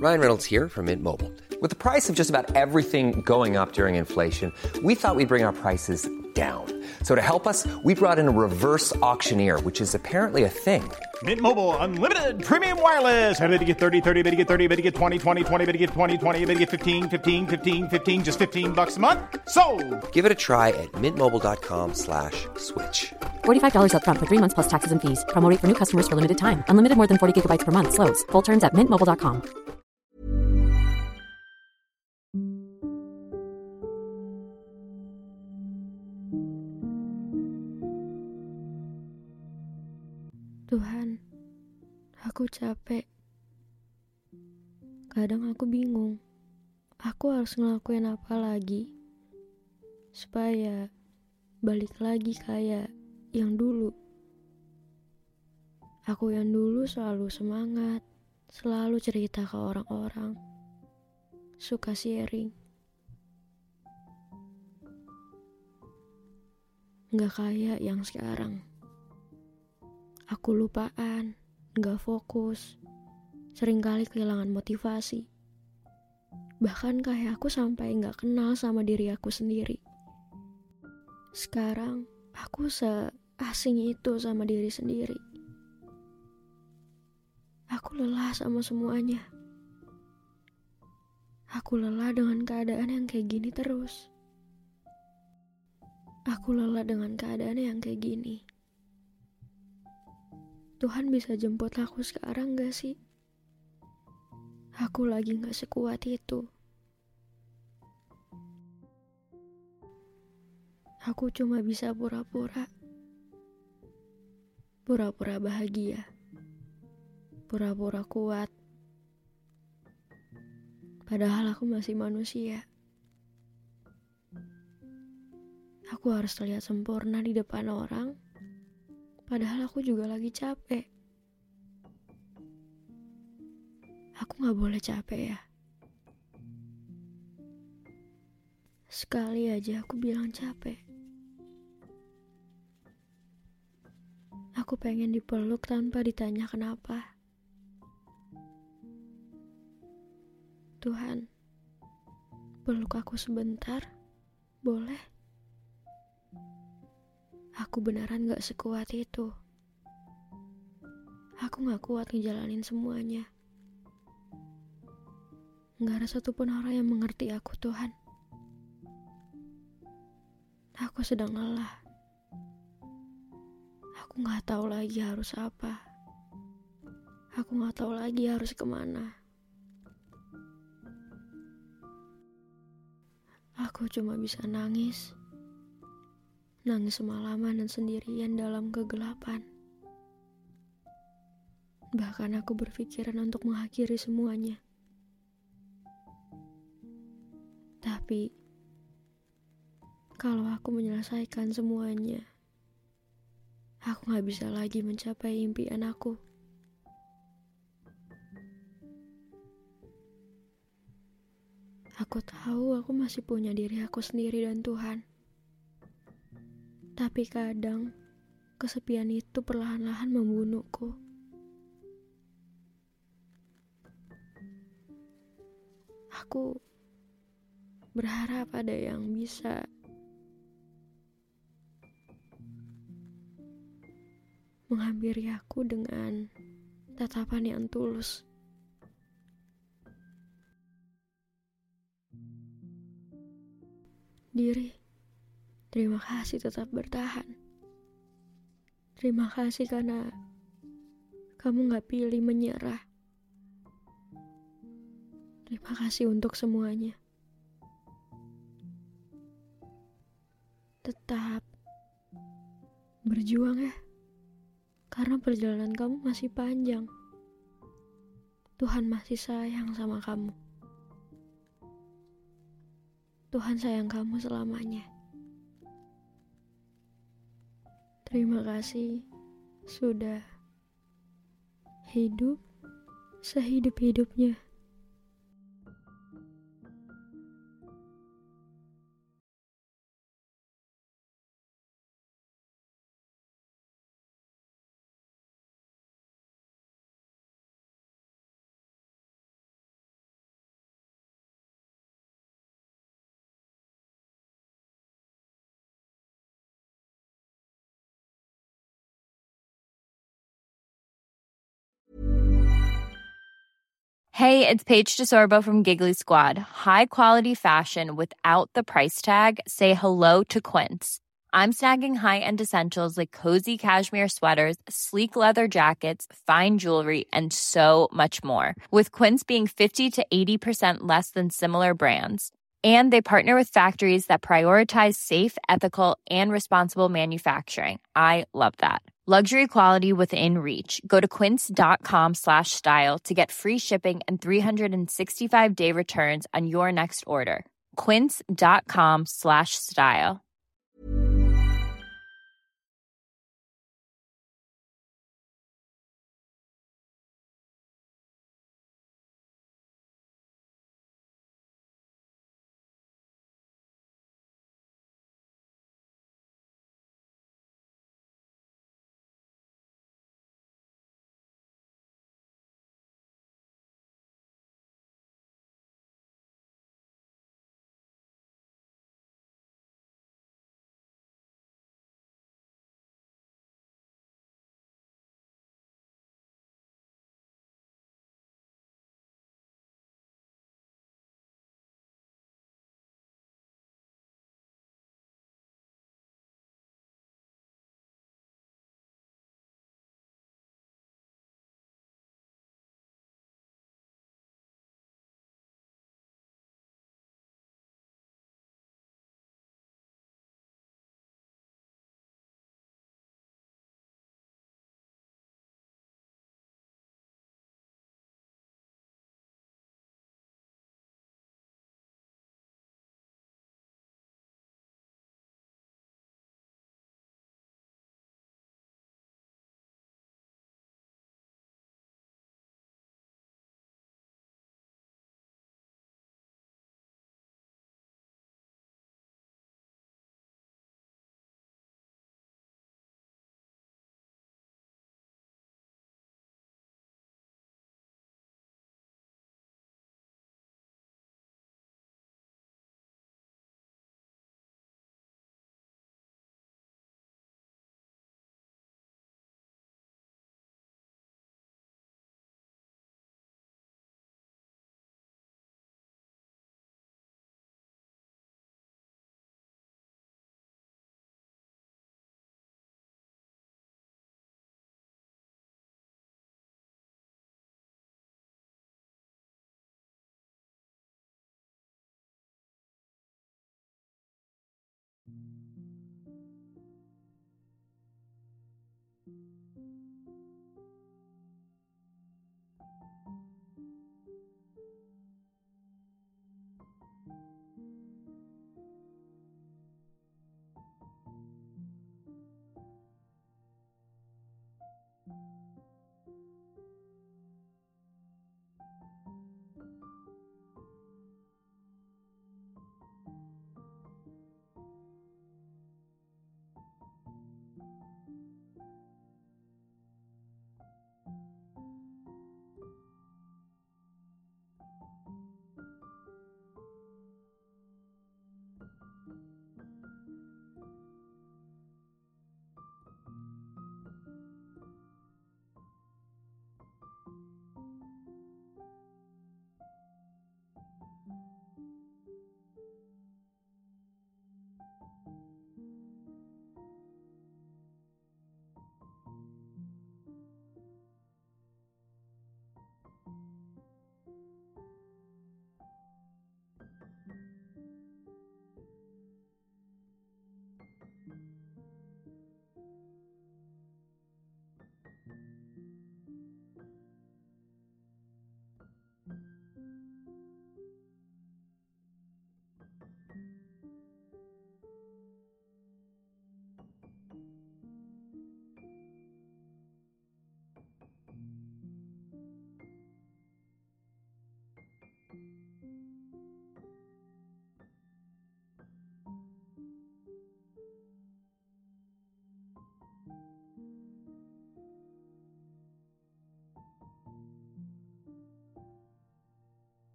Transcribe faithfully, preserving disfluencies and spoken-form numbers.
Ryan Reynolds here from Mint Mobile. With the price of just about everything going up during inflation, we thought we'd bring our prices down. So to help us, we brought in a reverse auctioneer, which is apparently a thing. Mint Mobile Unlimited Premium Wireless. How to get thirty, thirty, how to get thirty, how to get twenty, twenty, twenty, how to get twenty, twenty, how to get fifteen, fifteen, fifteen, fifteen, just fifteen bucks a month? Sold! Give it a try at mintmobile.com slash switch. forty-five dollars up front for three months plus taxes and fees. Promo rate for new customers for limited time. Unlimited more than forty gigabytes per month. Slows full terms at mint mobile dot com. Tuhan, aku capek. Kadang aku bingung, aku harus ngelakuin apa lagi supaya balik lagi kayak yang dulu. Aku yang dulu selalu semangat, selalu cerita ke orang-orang, suka sharing. Nggak kayak yang sekarang. Aku lupaan, gak fokus, seringkali kehilangan motivasi. Bahkan kayak aku sampai gak kenal sama diri aku sendiri. Sekarang, aku seasing itu sama diri sendiri. Aku lelah sama semuanya. Aku lelah dengan keadaan yang kayak gini terus. Aku lelah dengan keadaan yang kayak gini. Tuhan bisa jemput aku sekarang gak sih? Aku lagi gak sekuat itu. Aku cuma bisa pura-pura. Pura-pura bahagia. Pura-pura kuat. Padahal aku masih manusia. Aku harus terlihat sempurna di depan orang. Padahal aku juga lagi capek. Aku gak boleh capek ya. Sekali aja aku bilang capek. Aku pengen dipeluk tanpa ditanya kenapa. Tuhan, peluk aku sebentar, boleh? Aku beneran gak sekuat itu. Aku gak kuat ngejalanin semuanya. Gak ada satupun orang yang mengerti aku, Tuhan. Aku sedang lelah. Aku gak tahu lagi harus apa. Aku gak tahu lagi harus kemana. Aku cuma bisa nangis. Nangis semalaman dan sendirian dalam kegelapan. Bahkan aku berpikiran untuk mengakhiri semuanya. Tapi, kalau aku menyelesaikan semuanya, aku gak bisa lagi mencapai impian aku. Aku tahu aku masih punya diri aku sendiri dan Tuhan. Tapi kadang, kesepian itu perlahan-lahan membunuhku. Aku berharap ada yang bisa menghampiri aku dengan tatapan yang tulus. Diri, terima kasih tetap bertahan. Terima kasih karena kamu gak pilih menyerah. Terima kasih untuk semuanya. Tetap berjuang ya. Karena perjalanan kamu masih panjang. Tuhan masih sayang sama kamu. Tuhan sayang kamu selamanya. Terima kasih sudah hidup sehidup-hidupnya. Hey, it's Paige DeSorbo from Giggly Squad. High quality fashion without the price tag. Say hello to Quince. I'm snagging high-end essentials like cozy cashmere sweaters, sleek leather jackets, fine jewelry, and so much more. With Quince being fifty to eighty percent less than similar brands. And they partner with factories that prioritize safe, ethical, and responsible manufacturing. I love that. Luxury quality within reach. Go to quince.com slash style to get free shipping and three sixty-five day returns on your next order. Quince.com slash style.